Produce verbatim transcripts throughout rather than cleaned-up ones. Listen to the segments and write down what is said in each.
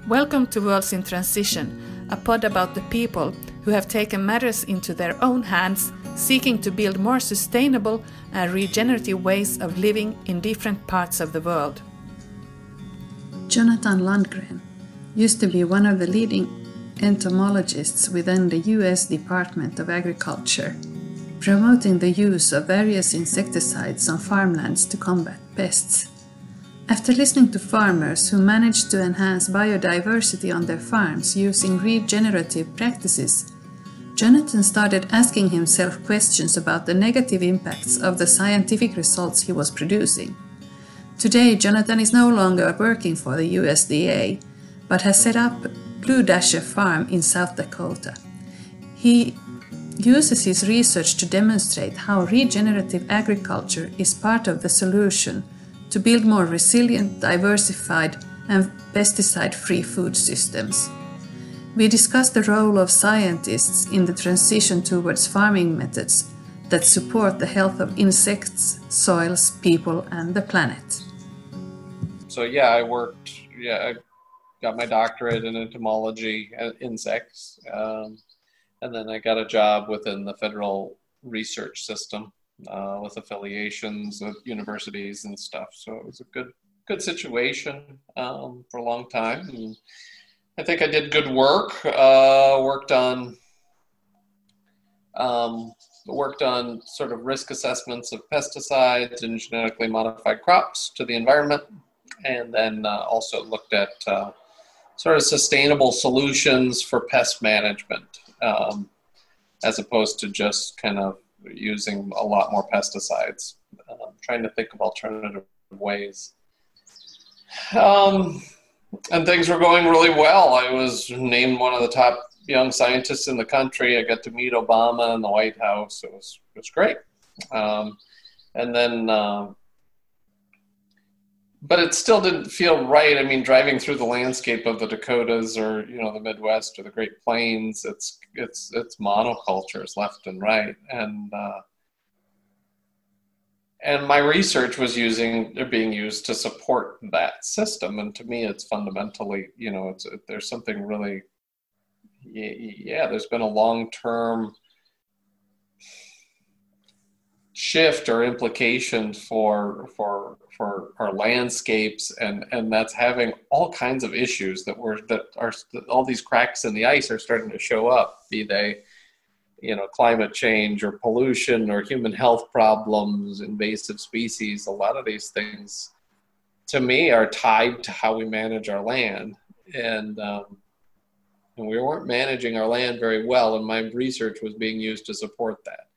Welcome to Worlds in Transition, a pod about the people who have taken matters into their own hands, seeking to build more sustainable and regenerative ways of living in different parts of the world. Jonathan Landgren used to be one of the leading entomologists within the U S Department of Agriculture, promoting the use of various insecticides on farmlands to combat pests. After listening to farmers who managed to enhance biodiversity on their farms using regenerative practices, Jonathan started asking himself questions about the negative impacts of the scientific results he was producing. Today, Jonathan is no longer working for the U S D A, but has set up Blue Dasher Farm in South Dakota. He uses his research to demonstrate how regenerative agriculture is part of the solution to build more resilient, diversified, and pesticide-free food systems. We discuss the role of scientists in the transition towards farming methods that support the health of insects, soils, people, and the planet. So yeah, I worked, yeah, I got my doctorate in entomology and insects, um, and then I got a job within the federal research system uh, with affiliations with universities and stuff. So it was a good, good situation um, for a long time. And I think I did good work. Uh, worked on, um, worked on sort of risk assessments of pesticides and genetically modified crops to the environment, and then uh, also looked at uh, sort of sustainable solutions for pest management, um, as opposed to just kind of using a lot more pesticides. Uh, trying to think of alternative ways. Um, and things were going really well. I was named one of the top young scientists in the country. I got to meet Obama in the White House. It was, it was great. Um, and then, uh, but it still didn't feel right. I mean, driving through the landscape of the Dakotas or, you know, the Midwest or the Great Plains, it's it's it's monocultures left and right. And uh, and my research was using being used to support that system. And to me, it's fundamentally, you know, it's there's something really, yeah, there's been a long-term shift or implication for for for our landscapes, and and that's having all kinds of issues that were that are all these cracks in the ice are starting to show up, be they, you know, climate change or pollution or human health problems, invasive species. A lot of these things to me are tied to how we manage our land, and um, and we weren't managing our land very well, and my research was being used to support that.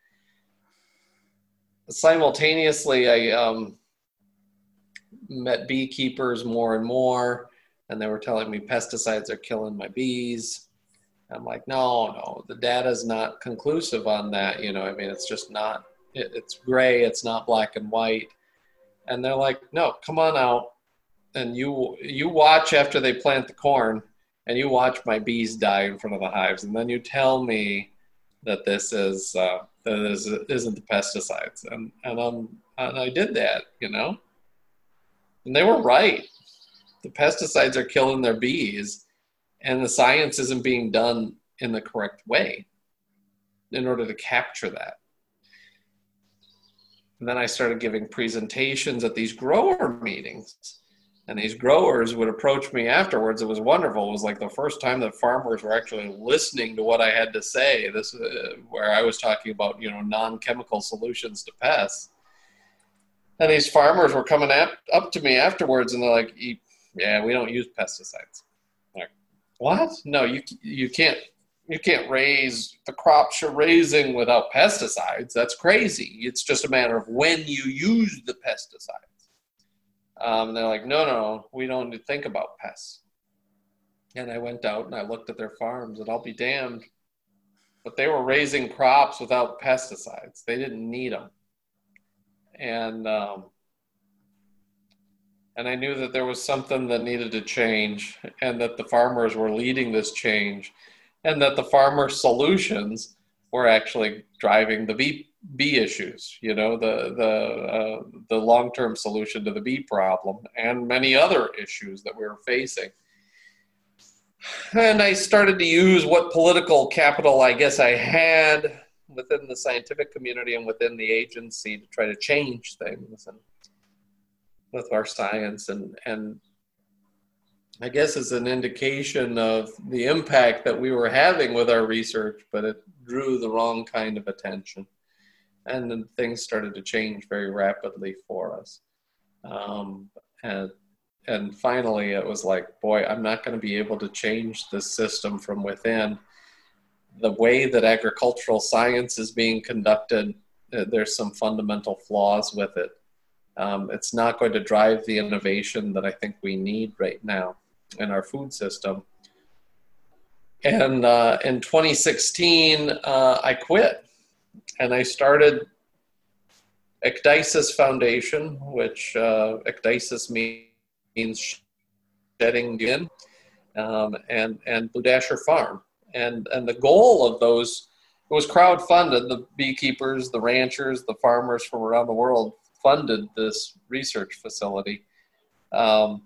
Simultaneously, I um, met beekeepers more and more, and they were telling me pesticides are killing my bees. I'm like, no, no, the data's not conclusive on that. You know, I mean, it's just not, it, it's gray, it's not black and white. And they're like, no, come on out, and you you watch after they plant the corn, and you watch my bees die in front of the hives, and then you tell me that this is uh, that is isn't the pesticides, and and um and I did that, you know, and they were right. The pesticides are killing their bees, and the science isn't being done in the correct way in order to capture that. And then I started giving presentations at these grower meetings. And these growers would approach me afterwards. It was wonderful. It was like the first time that farmers were actually listening to what I had to say. This, uh, where I was talking about, you know, non-chemical solutions to pests. And these farmers were coming up, up to me afterwards, and they're like, "Yeah, we don't use pesticides." I'm like, what? No, you you can't you can't raise the crops you're raising without pesticides. That's crazy. It's just a matter of when you use the pesticides. Um, and they're like, no, no, we don't need to think about pests. And I went out and I looked at their farms, and I'll be damned, but they were raising crops without pesticides. They didn't need them. And um, and I knew that there was something that needed to change, and that the farmers were leading this change, and that the farmer solutions were actually driving the bee bee issues, you know, the the uh, the long-term solution to the bee problem and many other issues that we were facing. And I started to use what political capital I guess I had within the scientific community and within the agency to try to change things and with our science. And, and I guess as an indication of the impact that we were having with our research, but it drew the wrong kind of attention. And then things started to change very rapidly for us. Um, and And finally, it was like, boy, I'm not going to be able to change this system from within. The way that agricultural science is being conducted, there's some fundamental flaws with it. Um, it's not going to drive the innovation that I think we need right now in our food system. And uh, in twenty sixteen, uh, I quit. And I started Ecdysis Foundation, which uh, Ecdysis means means shedding in, um, and, and Blue Dasher Farm. And, and the goal of those, it was crowdfunded. The beekeepers, the ranchers, the farmers from around the world funded this research facility. Um,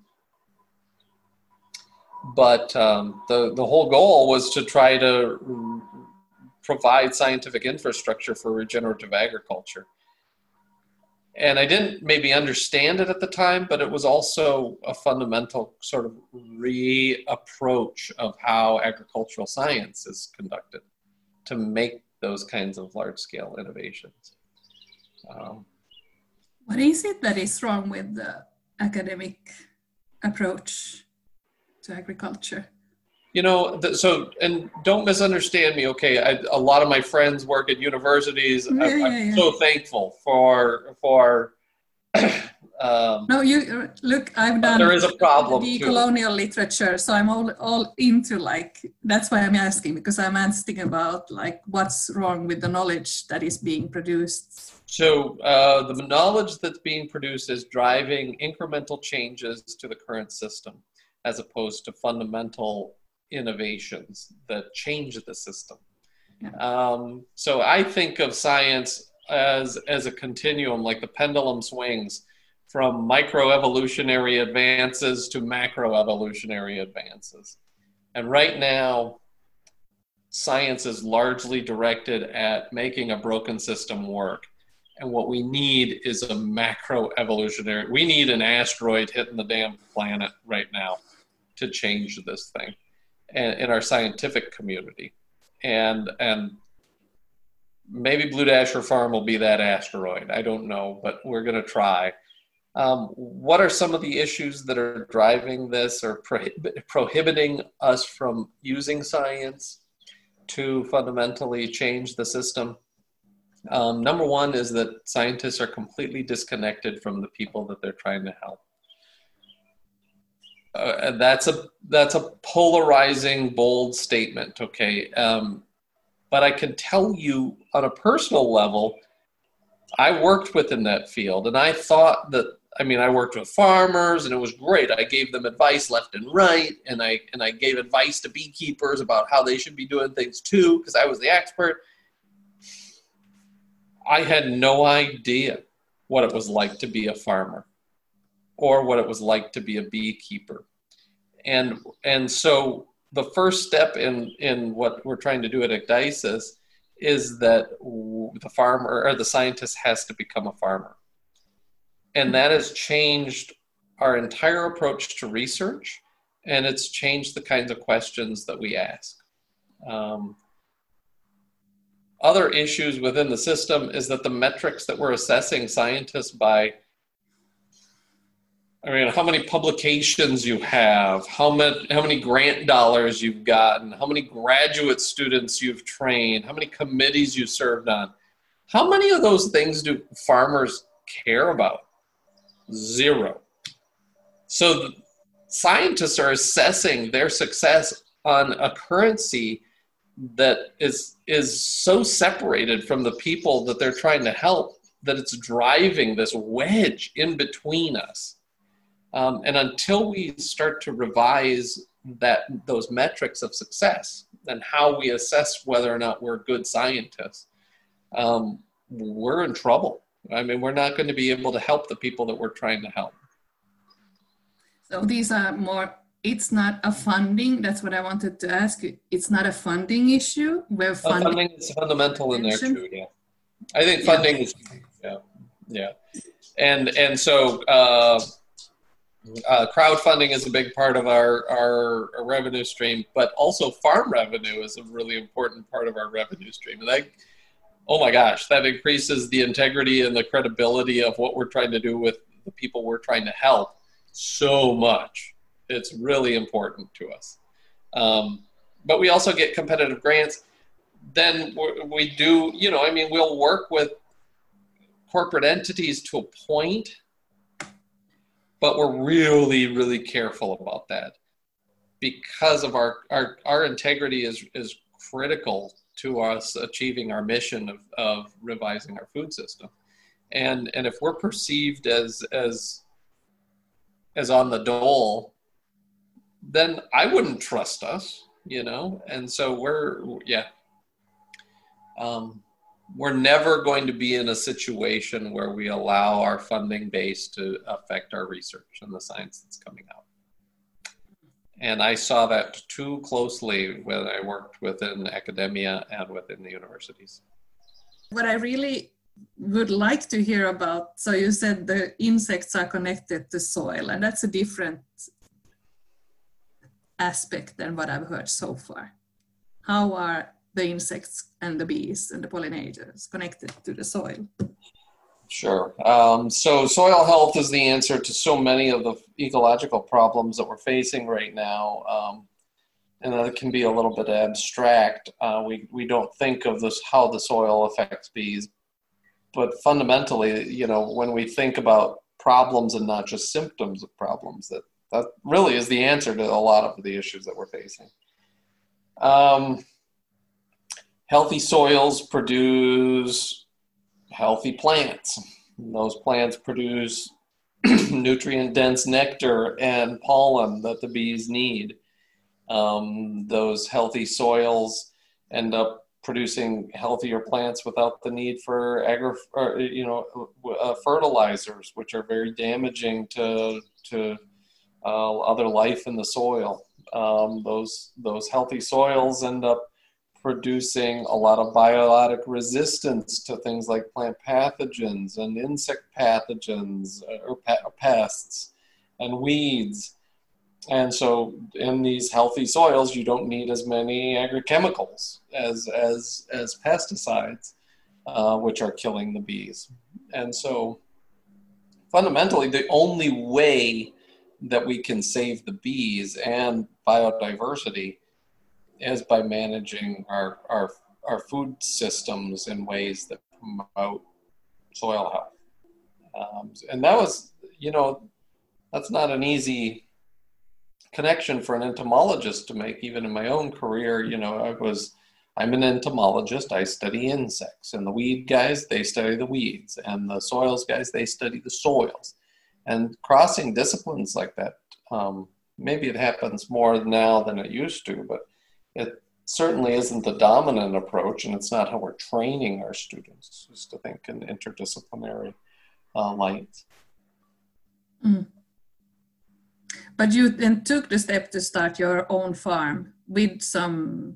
but um, the, the whole goal was to try to provide scientific infrastructure for regenerative agriculture. And I didn't maybe understand it at the time, but it was also a fundamental sort of re-approach of how agricultural science is conducted to make those kinds of large-scale innovations. Um, what is it that is wrong with the academic approach to agriculture? You know, the, so, and don't misunderstand me, okay? I, a lot of my friends work at universities. Yeah, I, yeah, I'm yeah. so thankful for, for um, no, you look, I've done there is a problem the too. colonial literature, so I'm all, all into like, that's why I'm asking, because I'm asking about like what's wrong with the knowledge that is being produced. So uh, the knowledge that's being produced is driving incremental changes to the current system, as opposed to fundamental innovations that change the system. Yeah. Um, so I think of science as, as a continuum, like the pendulum swings from microevolutionary advances to macroevolutionary advances. And right now, science is largely directed at making a broken system work. And what we need is a macroevolutionary, we need an asteroid hitting the damn planet right now to change this thing in our scientific community. And and maybe Blue Dasher Farm will be that asteroid. I don't know, but we're going to try. Um, what are some of the issues that are driving this or prohib- prohibiting us from using science to fundamentally change the system? Um, number one is that scientists are completely disconnected from the people that they're trying to help. Uh, that's a that's a polarizing, bold statement, okay? Um, but I can tell you on a personal level, I worked within that field, and I thought that, I mean, I worked with farmers, and it was great. I gave them advice left and right, and I and I gave advice to beekeepers about how they should be doing things too, because I was the expert. I had no idea what it was like to be a farmer, or what it was like to be a beekeeper. And and so the first step in, in what we're trying to do at Ecdysis is that the farmer or the scientist has to become a farmer. And that has changed our entire approach to research, and it's changed the kinds of questions that we ask. Um, other issues within the system is that the metrics that we're assessing scientists by, I mean, how many publications you have, how many, how many grant dollars you've gotten, how many graduate students you've trained, how many committees you served on. How many of those things do farmers care about? Zero. So the scientists are assessing their success on a currency that is, is so separated from the people that they're trying to help that it's driving this wedge in between us. Um, and until we start to revise that those metrics of success and how we assess whether or not we're good scientists, um, we're in trouble. I mean, we're not going to be able to help the people that we're trying to help. So these are more it's not a funding, that's what I wanted to ask you. It's not a funding issue where Uh, funding, funding is fundamental in there mentioned? too. Yeah, I think Yeah. funding is yeah, yeah, and and so uh, uh, crowdfunding is a big part of our, our our revenue stream, but also farm revenue is a really important part of our revenue stream. And that, oh my gosh, that increases the integrity and the credibility of what we're trying to do with the people we're trying to help so much. It's really important to us. Um, but we also get competitive grants. Then we do, you know, I mean, we'll work with corporate entities to a point, but we're really, really careful about that because of our, our, our integrity is, is critical to us achieving our mission of, of revising our food system. And, and if we're perceived as, as, as on the dole, then I wouldn't trust us, you know? And so we're, yeah. Um, we're never going to be in a situation where we allow our funding base to affect our research and the science that's coming out. And I saw that too closely when I worked within academia and within the universities. What I really would like to hear about, so you said the insects are connected to soil, and that's a different aspect than what I've heard so far. How are the insects and the bees and the pollinators connected to the soil? Sure. Um, so soil health is the answer to so many of the ecological problems that we're facing right now. Um, and that can be a little bit abstract. Uh, we, we don't think of this, how the soil affects bees. But fundamentally, you know, when we think about problems and not just symptoms of problems, that, that really is the answer to a lot of the issues that we're facing. Um, healthy soils produce healthy plants. And those plants produce nutrient-dense nectar and pollen that the bees need. Um, those healthy soils end up producing healthier plants without the need for agri, or, you know, uh, fertilizers, which are very damaging to to uh, other life in the soil. Um, those those healthy soils end up producing a lot of biotic resistance to things like plant pathogens and insect pathogens or pests and weeds. And so in these healthy soils, you don't need as many agrochemicals as, as, as pesticides, uh, which are killing the bees. And so fundamentally, the only way that we can save the bees and biodiversity is by managing our, our, our food systems in ways that promote soil health. Um, and that was, you know, that's not an easy connection for an entomologist to make. Even in my own career, you know, I was, I'm an entomologist, I study insects, and the weed guys, they study the weeds, and the soils guys, they study the soils. And crossing disciplines like that, um, maybe it happens more now than it used to, but it certainly isn't the dominant approach, and it's not how we're training our students, is to think in interdisciplinary uh, light. Mm. But you then took the step to start your own farm with some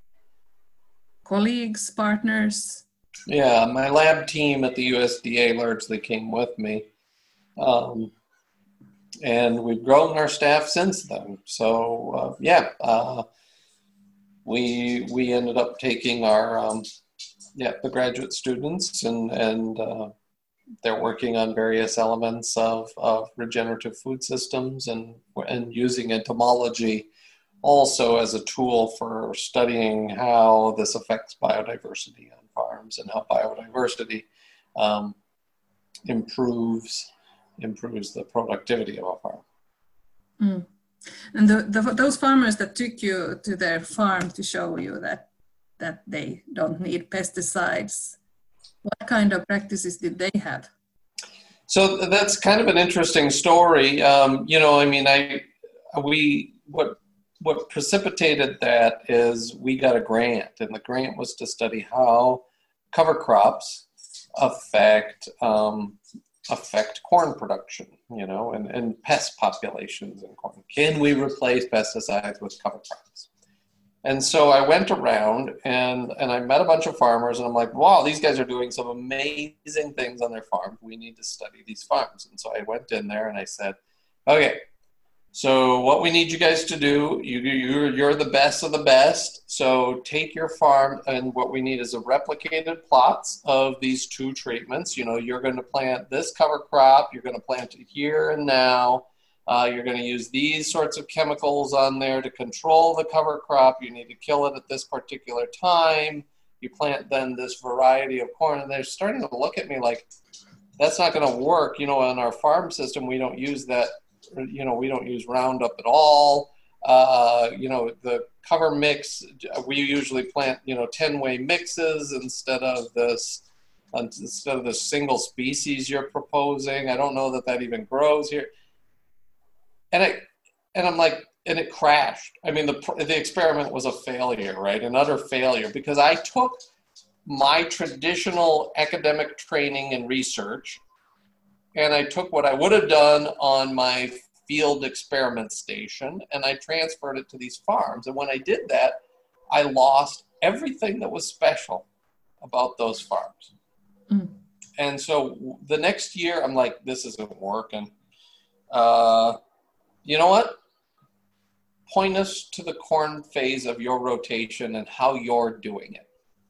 colleagues, partners? Yeah, my lab team at the U S D A largely came with me. Um, and we've grown our staff since then. So, uh, yeah, uh, we we ended up taking our, um, yeah, the graduate students, and, and uh, they're working on various elements of, of regenerative food systems and, and using entomology also as a tool for studying how this affects biodiversity on farms and how biodiversity um, improves improves the productivity of a farm. Mm. And the, the, those farmers that took you to their farm to show you that that they don't need pesticides, what kind of practices did they have? So that's kind of an interesting story. Um, you know, I mean, I we what what precipitated that is we got a grant, and the grant was to study how cover crops affect um, affect corn production, you know, and, and pest populations in corn. Can we replace pesticides with cover crops? And so I went around and, and I met a bunch of farmers, and I'm like, wow, these guys are doing some amazing things on their farm. We need to study these farms. And so I went in there and I said, okay, so what we need you guys to do, you, you're, you're the best of the best. So take your farm, and what we need is a replicated plots of these two treatments. You know, you're going to plant this cover crop. You're going to plant it here and now. Uh, you're going to use these sorts of chemicals on there to control the cover crop. You need to kill it at this particular time. You plant then this variety of corn, and they're starting to look at me like, that's not going to work. You know, in our farm system, we don't use that. You know, we don't use Roundup at all. Uh, you know, the cover mix, we usually plant, you know, ten-way mixes instead of this, instead of the single species you're proposing. I don't know that that even grows here. And I, and I'm like, and it crashed. I mean, the the experiment was a failure, right? An utter failure, because I took my traditional academic training and research, and I took what I would have done on my field experiment station, and I transferred it to these farms. And when I did that, I lost everything that was special about those farms. Mm. And so the next year, I'm like, this isn't working. Uh, you know what? Point us to the corn phase of your rotation and how you're doing it.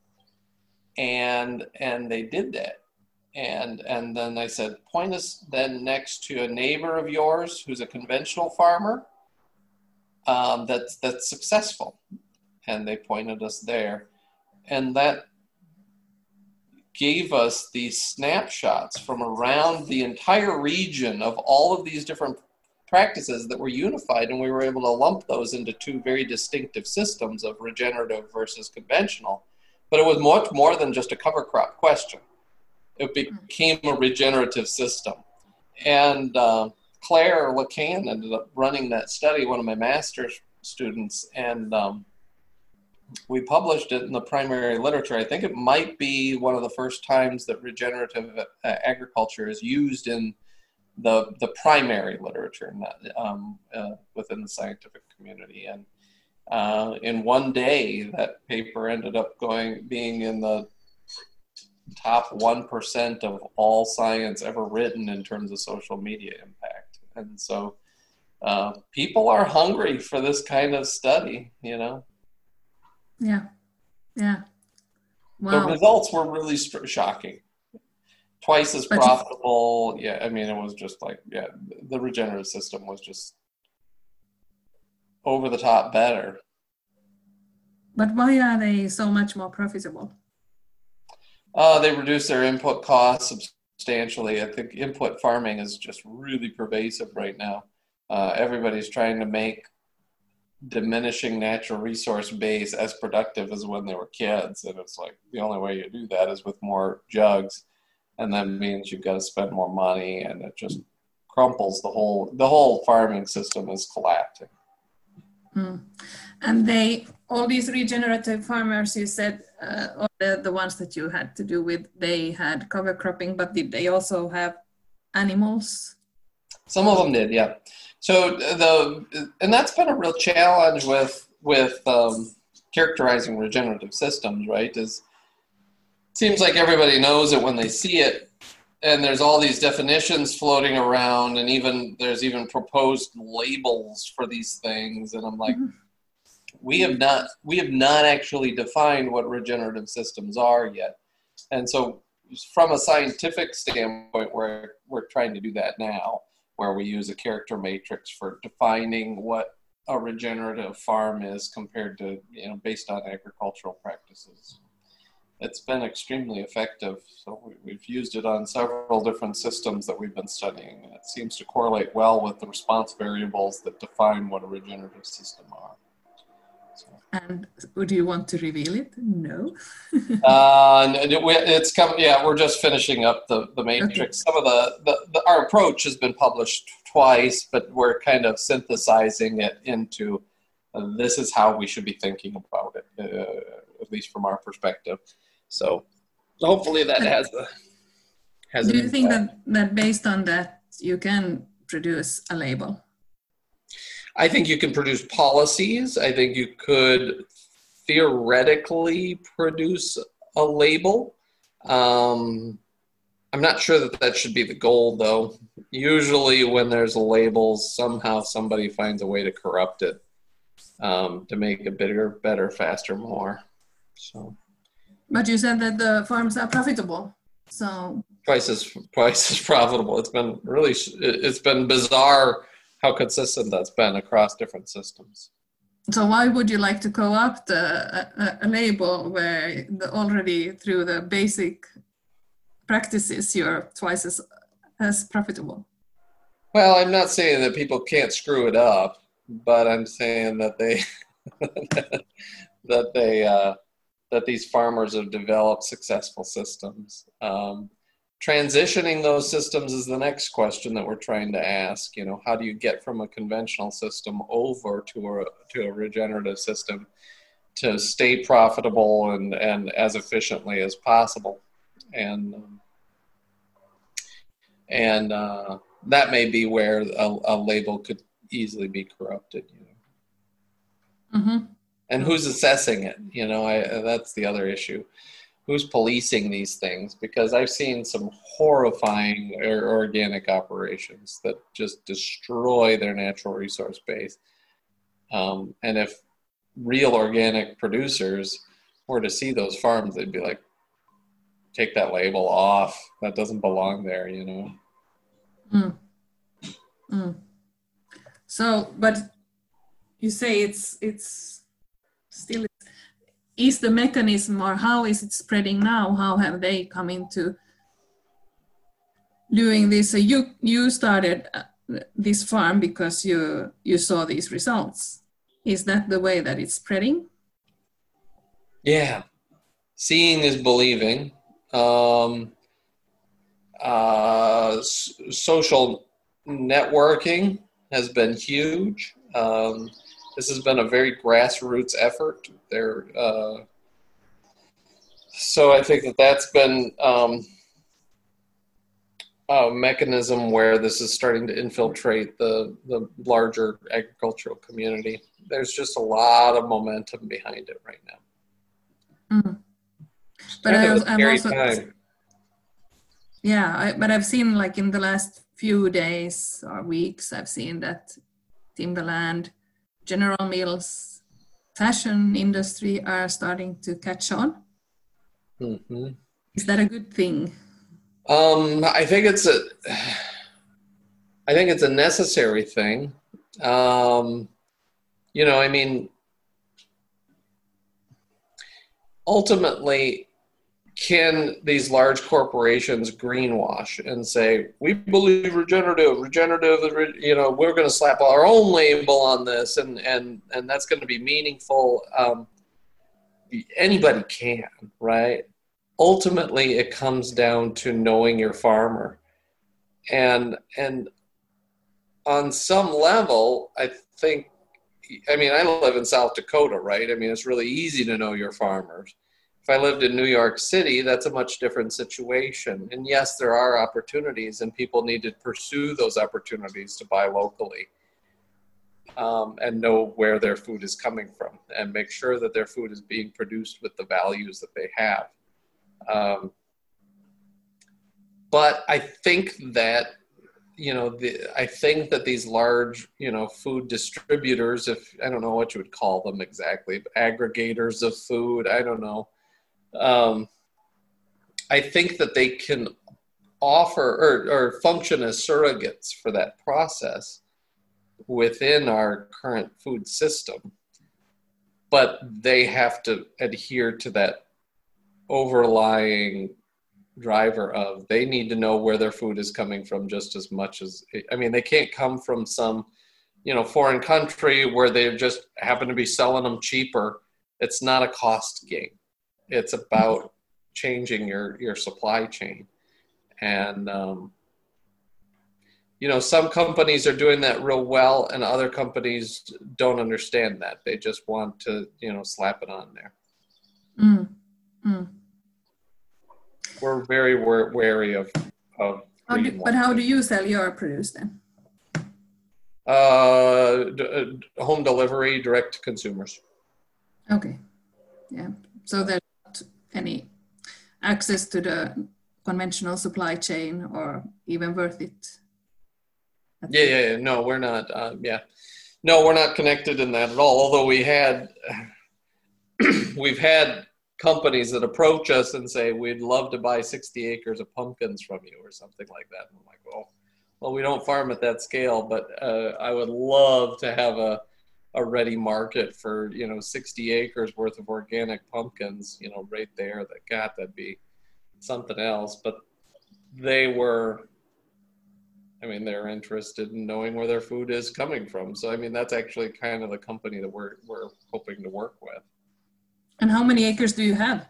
And and they did that. And and then I said, point us then next to a neighbor of yours who's a conventional farmer um, that's that's successful. And they pointed us there. And that gave us these snapshots from around the entire region of all of these different practices that were unified, and we were able to lump those into two very distinctive systems of regenerative versus conventional. But it was much more than just a cover crop question. It became a regenerative system. And uh, Claire Lacan ended up running that study, one of my master's students, and um, we published it in the primary literature. I think it might be one of the first times that regenerative uh, agriculture is used in the the primary literature, not, um, uh, within the scientific community. And uh, in one day, that paper ended up going being in the top one percent of all science ever written in terms of social media impact. And so uh, people are hungry for this kind of study, you know? Yeah, yeah. Wow. The results were really st- shocking. Twice as But profitable. Yeah, I mean, it was just like, yeah, the regenerative system was just over the top better. But why are they so much more profitable? Uh, they reduce their input costs substantially. I think input farming is just really pervasive right now. Uh, everybody's trying to make diminishing natural resource base as productive as when they were kids. And it's like, the only way you do that is with more jugs. And that means you've got to spend more money, and it just crumples the whole, the whole farming system is collapsing. Mm. And they, all these regenerative farmers, you said, uh, all the, the ones that you had to do with, they had cover cropping, but did they also have animals? Some of them did, yeah. So the, and that's been a real challenge with, with um, characterizing regenerative systems, right? Is seems like everybody knows it when they see it, and there's all these definitions floating around, and even there's even proposed labels for these things, and I'm like, mm-hmm. we have not we have not actually defined what regenerative systems are yet. And so from a scientific standpoint, we're we're trying to do that now, where we use a character matrix for defining what a regenerative farm is compared to, you know, based on agricultural practices. It's been extremely effective. So we, we've used it on several different systems that we've been studying. And it seems to correlate well with the response variables that define what a regenerative system are. So. And do you want to reveal it? No. uh, it's coming. Yeah, we're just finishing up the, the matrix. Okay. Some of the, the, the, our approach has been published twice, but we're kind of synthesizing it into uh, this is how we should be thinking about it, uh, at least from our perspective. So hopefully that has a... has Do an you think impact. that, that based on that you can produce a label? I think you can produce policies. I think you could theoretically produce a label. Um, I'm not sure that that should be the goal, though. Usually when there's a label, somehow somebody finds a way to corrupt it um, to make it bigger, better, faster, more. So. But you said that the farms are profitable, so Twice as twice as profitable. It's been really, it's been bizarre how consistent that's been across different systems. So why would you like to co-opt a, a, a label where the, already through the basic practices you're twice as as profitable? Well, I'm not saying that people can't screw it up, but I'm saying that they that they uh, that these farmers have developed successful systems. Um, transitioning those systems is the next question that we're trying to ask. You know, how do you get from a conventional system over to a to a regenerative system to stay profitable and, and as efficiently as possible? And um, and uh, that may be where a, a label could easily be corrupted. You know, mm-hmm. And who's assessing it? You know, I, that's the other issue. Who's policing these things? Because I've seen some horrifying organic operations that just destroy their natural resource base. Um, and if real organic producers were to see those farms, they'd be like, take that label off. That doesn't belong there, you know. Mm. Mm. So, but you say it's it's still, is the mechanism, or how is it spreading now? How have they come into doing this? So you you started this farm because you you saw these results. Is that the way that it's spreading? Yeah, seeing is believing. Um, uh, s- social networking has been huge. Um, this has been a very grassroots effort. There, uh, so I think that that's been um, a mechanism where this is starting to infiltrate the the larger agricultural community. There's just a lot of momentum behind it right now. Mm. But I was, I'm also, time. yeah, I, but I've seen, like, in the last few days or weeks, I've seen that Timberland, General Mills, fashion industry are starting to catch on. Mm-hmm. Is that a good thing? Um, I think it's a, I think it's a necessary thing. Um, you know, I mean, ultimately, can these large corporations greenwash and say, we believe regenerative, regenerative, you know, we're going to slap our own label on this, and, and, and that's going to be meaningful? Um, anybody can, right? Ultimately, it comes down to knowing your farmer. And, and on some level, I think, I mean, I live in South Dakota, right? I mean, it's really easy to know your farmers. If I lived in New York City, that's a much different situation. And yes, there are opportunities, and people need to pursue those opportunities to buy locally um, and know where their food is coming from and make sure that their food is being produced with the values that they have. Um, but I think that, you know, the, I think that these large, you know, food distributors, if I don't know what you would call them exactly, but aggregators of food, I don't know. Um, I think that they can offer or, or function as surrogates for that process within our current food system, but they have to adhere to that overlying driver of they need to know where their food is coming from just as much as, I mean, they can't come from some, you know, foreign country where they just happen to be selling them cheaper. It's not a cost game. It's about changing your, your supply chain. And, um, you know, some companies are doing that real well, and other companies don't understand that. They just want to, you know, slap it on there. Mm. Mm. We're very wary of of how do, but how do you sell your produce then? Uh, d- home delivery, direct to consumers. Okay, yeah. So there's not any access to the conventional supply chain, or even worth it? Yeah, yeah, yeah. No, we're not. Uh, yeah, no, we're not connected in that at all. Although we had, we've had companies that approach us and say, we'd love to buy sixty acres of pumpkins from you or something like that. And I'm like, well, well, we don't farm at that scale, but uh, I would love to have a, a ready market for, you know, sixty acres worth of organic pumpkins, you know, right there. That God, that'd be something else. But they were, I mean, they're interested in knowing where their food is coming from. So, I mean, that's actually kind of the company that we're we're hoping to work with. And how many acres do you have?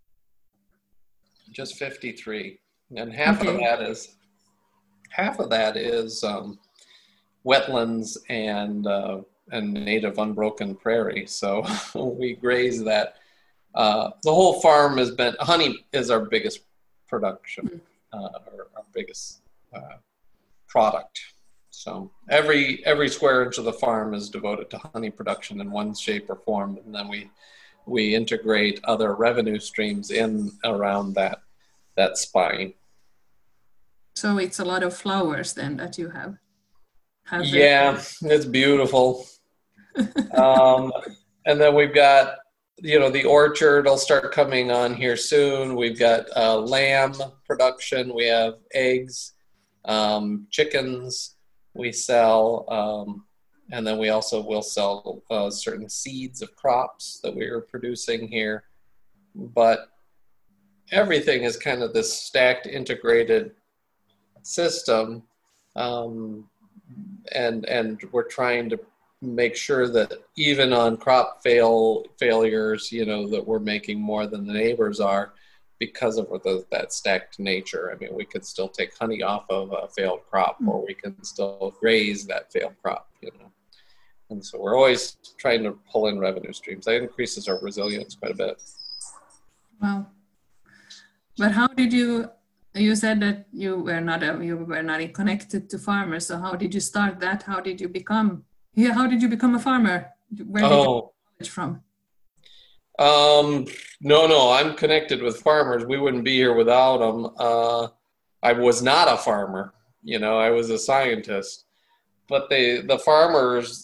Just fifty-three, and half okay. of that is half of that is um, wetlands and uh, and native unbroken prairie. So we graze that. Uh, the whole farm has been, honey is our biggest production, uh, our, our biggest uh, product. So every every square inch of the farm is devoted to honey production in one shape or form, and then we we integrate other revenue streams in around that that spine. So it's a lot of flowers then that you have. have yeah, it's beautiful. um, and then we've got, you know, the orchard will start coming on here soon. We've got uh, lamb production. We have eggs, um, chickens. We sell, um, and then we also will sell uh, certain seeds of crops that we are producing here. But everything is kind of this stacked, integrated system, um, and and we're trying to make sure that even on crop fail failures, you know, that we're making more than the neighbors are because of the, that stacked nature. I mean, we could still take honey off of a failed crop, or we can still graze that failed crop, you know. And so we're always trying to pull in revenue streams. That increases our resilience quite a bit. Wow. But how did you, you said that you were not a, you were not connected to farmers. So how did you start that? How did you become, yeah, how did you become a farmer? Where did oh. you get knowledge from? Um, no, no, I'm connected with farmers. We wouldn't be here without them. Uh, I was not a farmer, you know, I was a scientist. But they, the farmers,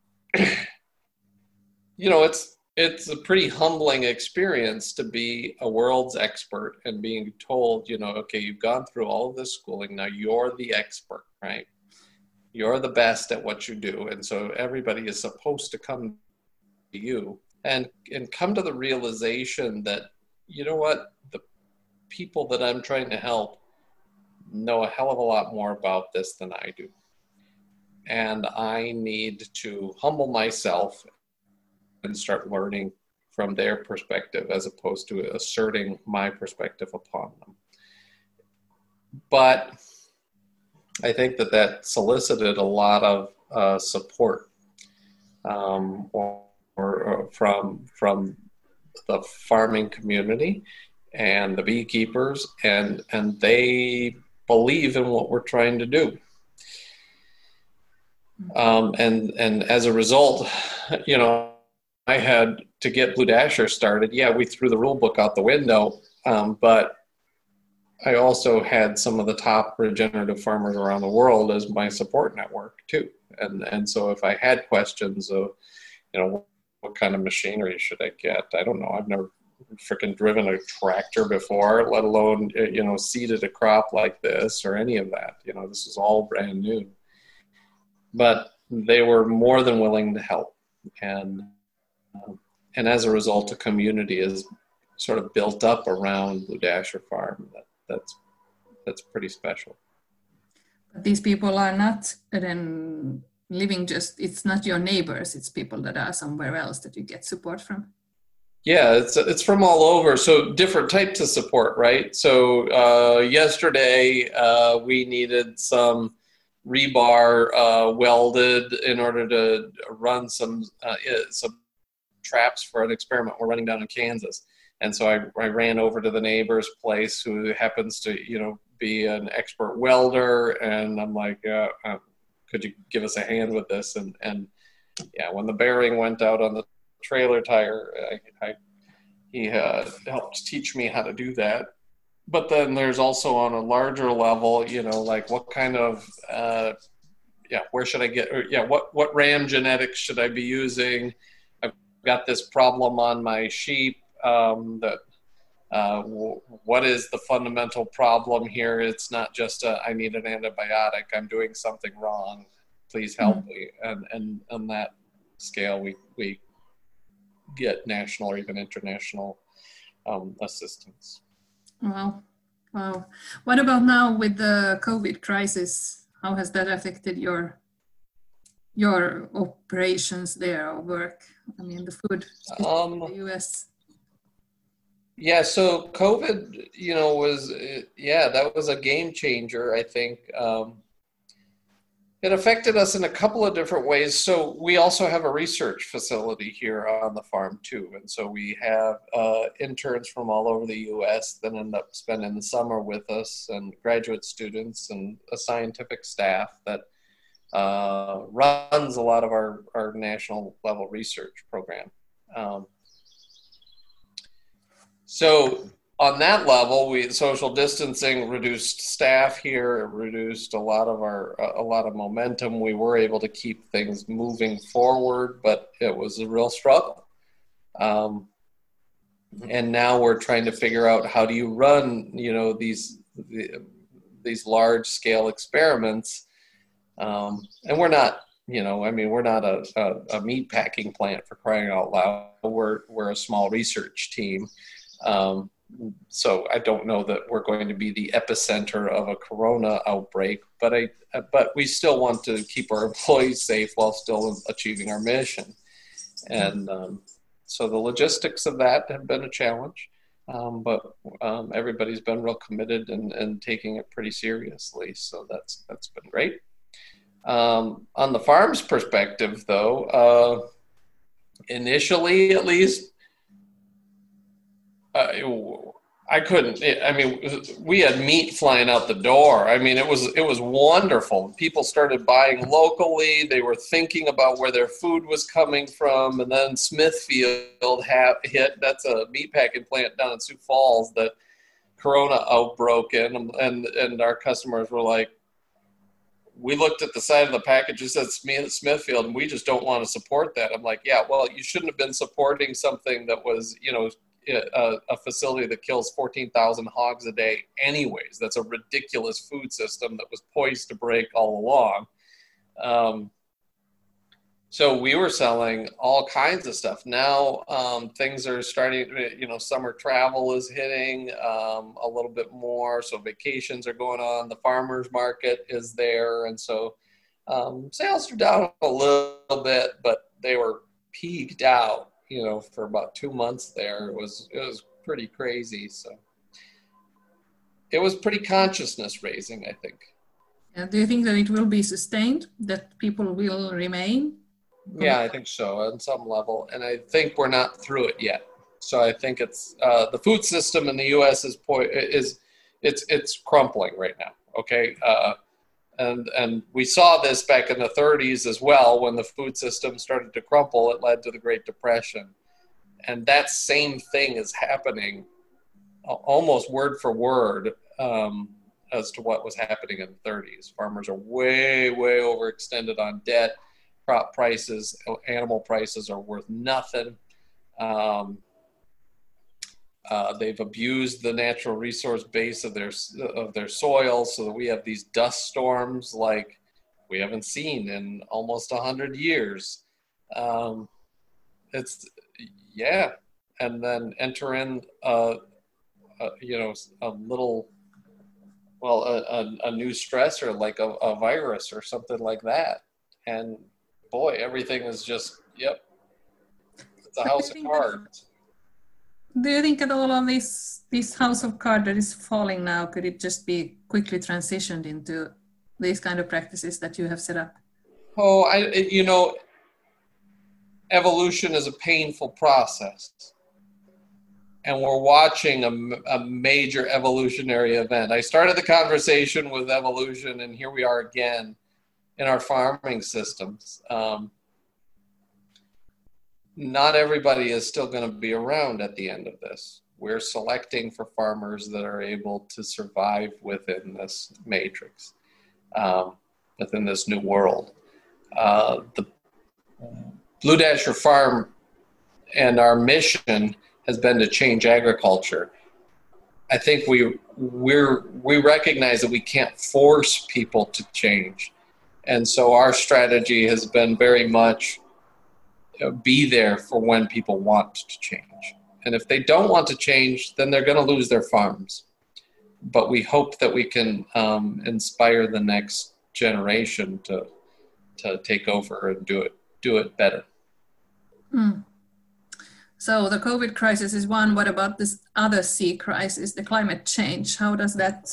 you know, it's it's a pretty humbling experience to be a world's expert and being told, you know, okay, you've gone through all of this schooling, now you're the expert, right? You're the best at what you do, and so everybody is supposed to come to you and and come to the realization that, you know what, the people that I'm trying to help know a hell of a lot more about this than I do. And I need to humble myself and start learning from their perspective as opposed to asserting my perspective upon them. But I think that that solicited a lot of uh, support um, or, or from from the farming community and the beekeepers, and and they believe in what we're trying to do. Um, and and as a result, you know, I had to get Blue Dasher started. Yeah, we threw the rule book out the window, um, but I also had some of the top regenerative farmers around the world as my support network too. And and so if I had questions of, you know, what kind of machinery should I get? I don't know. I've never freaking driven a tractor before, let alone, you know, seeded a crop like this or any of that. You know, this is all brand new. But they were more than willing to help. And um, and as a result, a community is sort of built up around Blue Dasher Farm. That, that's that's pretty special. But these people are not then living just, it's not your neighbors, it's people that are somewhere else that you get support from. Yeah, it's it's from all over. So different types of support, right? So uh, yesterday uh, we needed some rebar uh, welded in order to run some uh, some traps for an experiment we're running down in Kansas. And so I, I ran over to the neighbor's place who happens to, you know, be an expert welder. And I'm like, uh, uh, could you give us a hand with this? And, and yeah, when the bearing went out on the trailer tire, I, I he uh, helped teach me how to do that. But then there's also on a larger level, you know, like what kind of, uh, yeah, where should I get, or, yeah, what, what RAM genetics should I be using? I've got this problem on my sheep um, that, uh, w- what is the fundamental problem here? It's not just a, I need an antibiotic, I'm doing something wrong, please help mm-hmm. me. And, and on that scale, we, we get national or even international um, assistance. Wow. Wow. What about now with the COVID crisis? How has that affected your your operations there or work? I mean, the food um, in the U S. Yeah, so COVID, you know, was, yeah, that was a game changer, I think. Um, It affected us in a couple of different ways. So we also have a research facility here on the farm too. And so we have uh, interns from all over the U S that end up spending the summer with us, and graduate students and a scientific staff that uh, runs a lot of our, our national level research program. Um, so on that level, we social distancing reduced staff here, it reduced a lot of our a lot of momentum. We were able to keep things moving forward, but it was a real struggle. Um, and now we're trying to figure out, how do you run, you know, these these large scale experiments? Um, and we're not, you know, I mean, we're not a, a, a meat packing plant, for crying out loud. We're we're a small research team. Um, So I don't know that we're going to be the epicenter of a corona outbreak, but I, but we still want to keep our employees safe while still achieving our mission. And um, so the logistics of that have been a challenge, um, but um, everybody's been real committed and, and taking it pretty seriously. So that's that's been great. Um, on the farm's perspective, though, uh, initially at least, Uh, I couldn't, I mean, we had meat flying out the door. I mean, it was, it was wonderful. People started buying locally. They were thinking about where their food was coming from. And then Smithfield ha- hit, that's a meatpacking plant down in Sioux Falls that Corona outbroke in. And, and our customers were like, we looked at the side of the package, it said Smithfield, and we just don't want to support that. I'm like, yeah, well, you shouldn't have been supporting something that was, you know, A, a facility that kills fourteen thousand hogs a day anyways. That's a ridiculous food system that was poised to break all along. Um, so we were selling all kinds of stuff. Now um, things are starting, you know, summer travel is hitting um, a little bit more. So vacations are going on. The farmer's market is there. And so um, sales are down a little bit, but they were peaked out, you know, for about two months there. It was, it was pretty crazy. So it was pretty consciousness raising, I think. Yeah, do you think that it will be sustained, that people will remain? Yeah, I think so on some level. And I think we're not through it yet. So I think it's, uh, the food system in the U S is, po- is it's, it's crumpling right now. Okay. Uh, And and we saw this back in the thirties as well. When the food system started to crumple, it led to the Great Depression. And that same thing is happening almost word for word um, as to what was happening in the thirties. Farmers are way, way overextended on debt. Crop prices, animal prices are worth nothing. Um, Uh, they've abused the natural resource base of their of their soil, so that we have these dust storms like we haven't seen in almost a hundred years. Um, it's yeah, and then enter in a, a you know a little well a, a, a new stressor like a, a virus or something like that, and boy, everything is just yep, it's a house of cards. Do you think at all on this this house of cards that is falling now, could it just be quickly transitioned into these kind of practices that you have set up? Oh, I you know, evolution is a painful process. and we're watching a, a major evolutionary event. I started the conversation with evolution, and here we are again in our farming systems. Um, not everybody is still going to be around at the end of this. We're selecting for farmers that are able to survive within this matrix, um, within this new world. Uh, the Blue Dasher Farm and our mission has been to change agriculture. I think we we're we recognize that we can't force people to change, and so our strategy has been very much, you know, be there for when people want to change. And if they don't want to change, then they're going to lose their farms. But we hope that we can um, inspire the next generation to to take over and do it do it better. Mm. So the COVID crisis is one. What about this other sea crisis, the climate change? How does that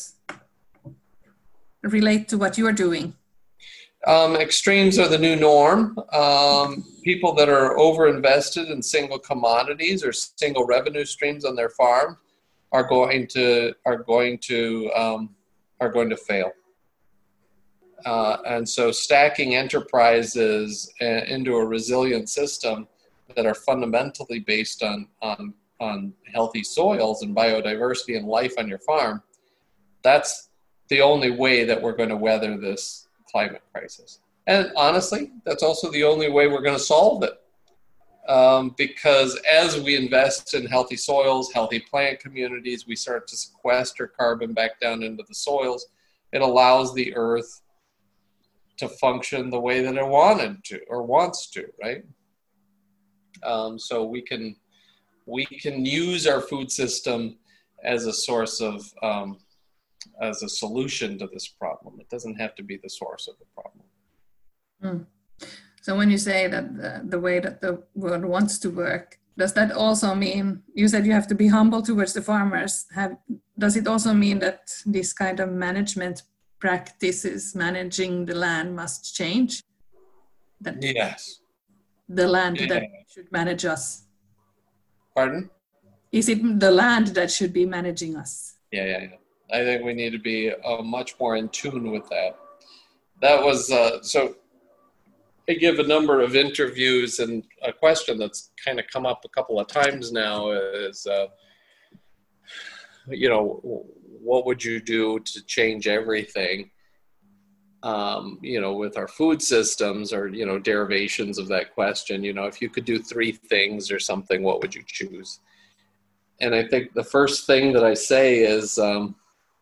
relate to what you are doing? Um, extremes are the new norm. Um, people that are overinvested in single commodities or single revenue streams on their farm are going to are going to um, are going to fail. Uh, and so stacking enterprises into a resilient system that are fundamentally based on, on, on healthy soils and biodiversity and life on your farm, that's the only way that we're going to weather this climate crisis. And honestly, that's also the only way we're going to solve it. Um, because as we invest in healthy soils, healthy plant communities, we start to sequester carbon back down into the soils. It allows the earth to function the way that it wanted to or wants to, right? Um, so we can we can use our food system as a source of um, as a solution to this problem. It doesn't have to be the source of the problem. Mm. So when you say that the, the way that the world wants to work, does that also mean, you said you have to be humble towards the farmers. Have, does it also mean that this kind of management practices, managing the land, must change? That yes. The land yeah. that should manage us? Pardon? Is it the land that should be managing us? Yeah, yeah, yeah. I think we need to be uh, much more in tune with that. That was, uh, so I give a number of interviews, and a question that's kind of come up a couple of times now is, uh, you know, what would you do to change everything, um, you know, with our food systems, or, you know, derivations of that question. You know, if you could do three things or something, what would you choose? And I think the first thing that I say is, um,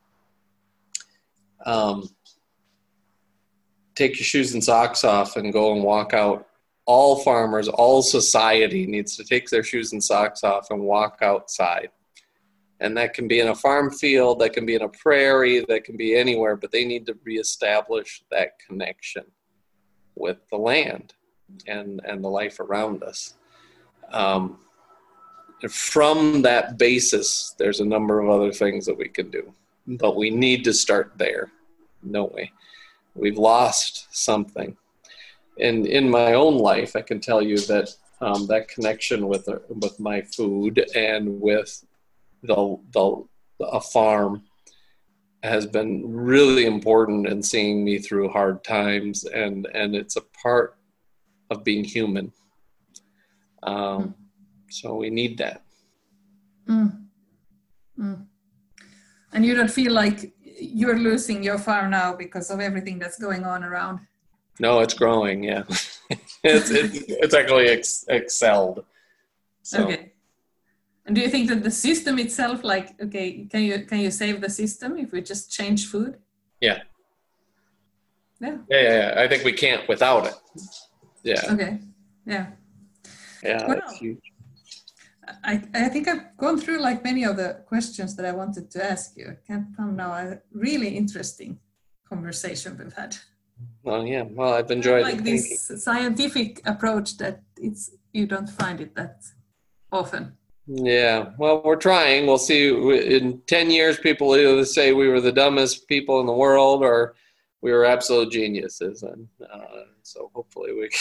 um, take your shoes and socks off and go and walk out. All farmers, all society needs to take their shoes and socks off and walk outside. And that can be in a farm field, that can be in a prairie, that can be anywhere, but they need to reestablish that connection with the land and, and the life around us. Um, from that basis, there's a number of other things that we can do, but we need to start there, don't we? We've lost something. And in my own life, I can tell you that um, that connection with with my food and with the, the a farm has been really important in seeing me through hard times, and, and it's a part of being human. Um, mm. So we need that. Mm. Mm. And you don't feel like you're losing your farm now because of everything that's going on around? No, it's growing. Yeah, it's, it's it's actually ex- excelled. So. Okay. And do you think that the system itself, like, okay, can you can you save the system if we just change food? Yeah. Yeah. Yeah, yeah, yeah. I think we can't without it. Yeah. Okay. Yeah. Yeah. Well, that's huge. I, I think I've gone through like many of the questions that I wanted to ask you. I can't come now. A really interesting conversation we've had. Well, yeah. Well, I've enjoyed like it. this scientific approach that it's you don't find it that often. Yeah. Well, we're trying. We'll see. In ten years, people either say we were the dumbest people in the world or we were absolute geniuses. And uh, so hopefully we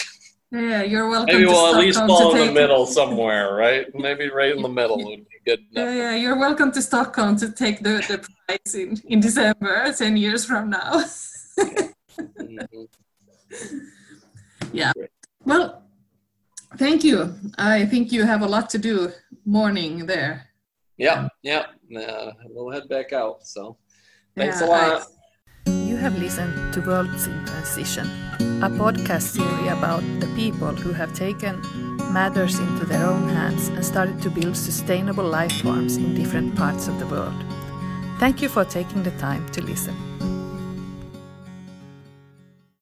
Yeah, you're welcome. Maybe to we'll at Stockholm least to fall in take- the middle somewhere, right? Maybe right in the middle would be good enough. Yeah, yeah, you're welcome to Stockholm to take the, the prize in, in December, ten years from now. Mhm. Yeah. Well, thank you. I think you have a lot to do morning there. Yeah, yeah. Uh, we'll head back out. So thanks Yeah, a lot. You have listened to Worlds in Transition, a podcast series about the people who have taken matters into their own hands and started to build sustainable life forms in different parts of the world. Thank you for taking the time to listen.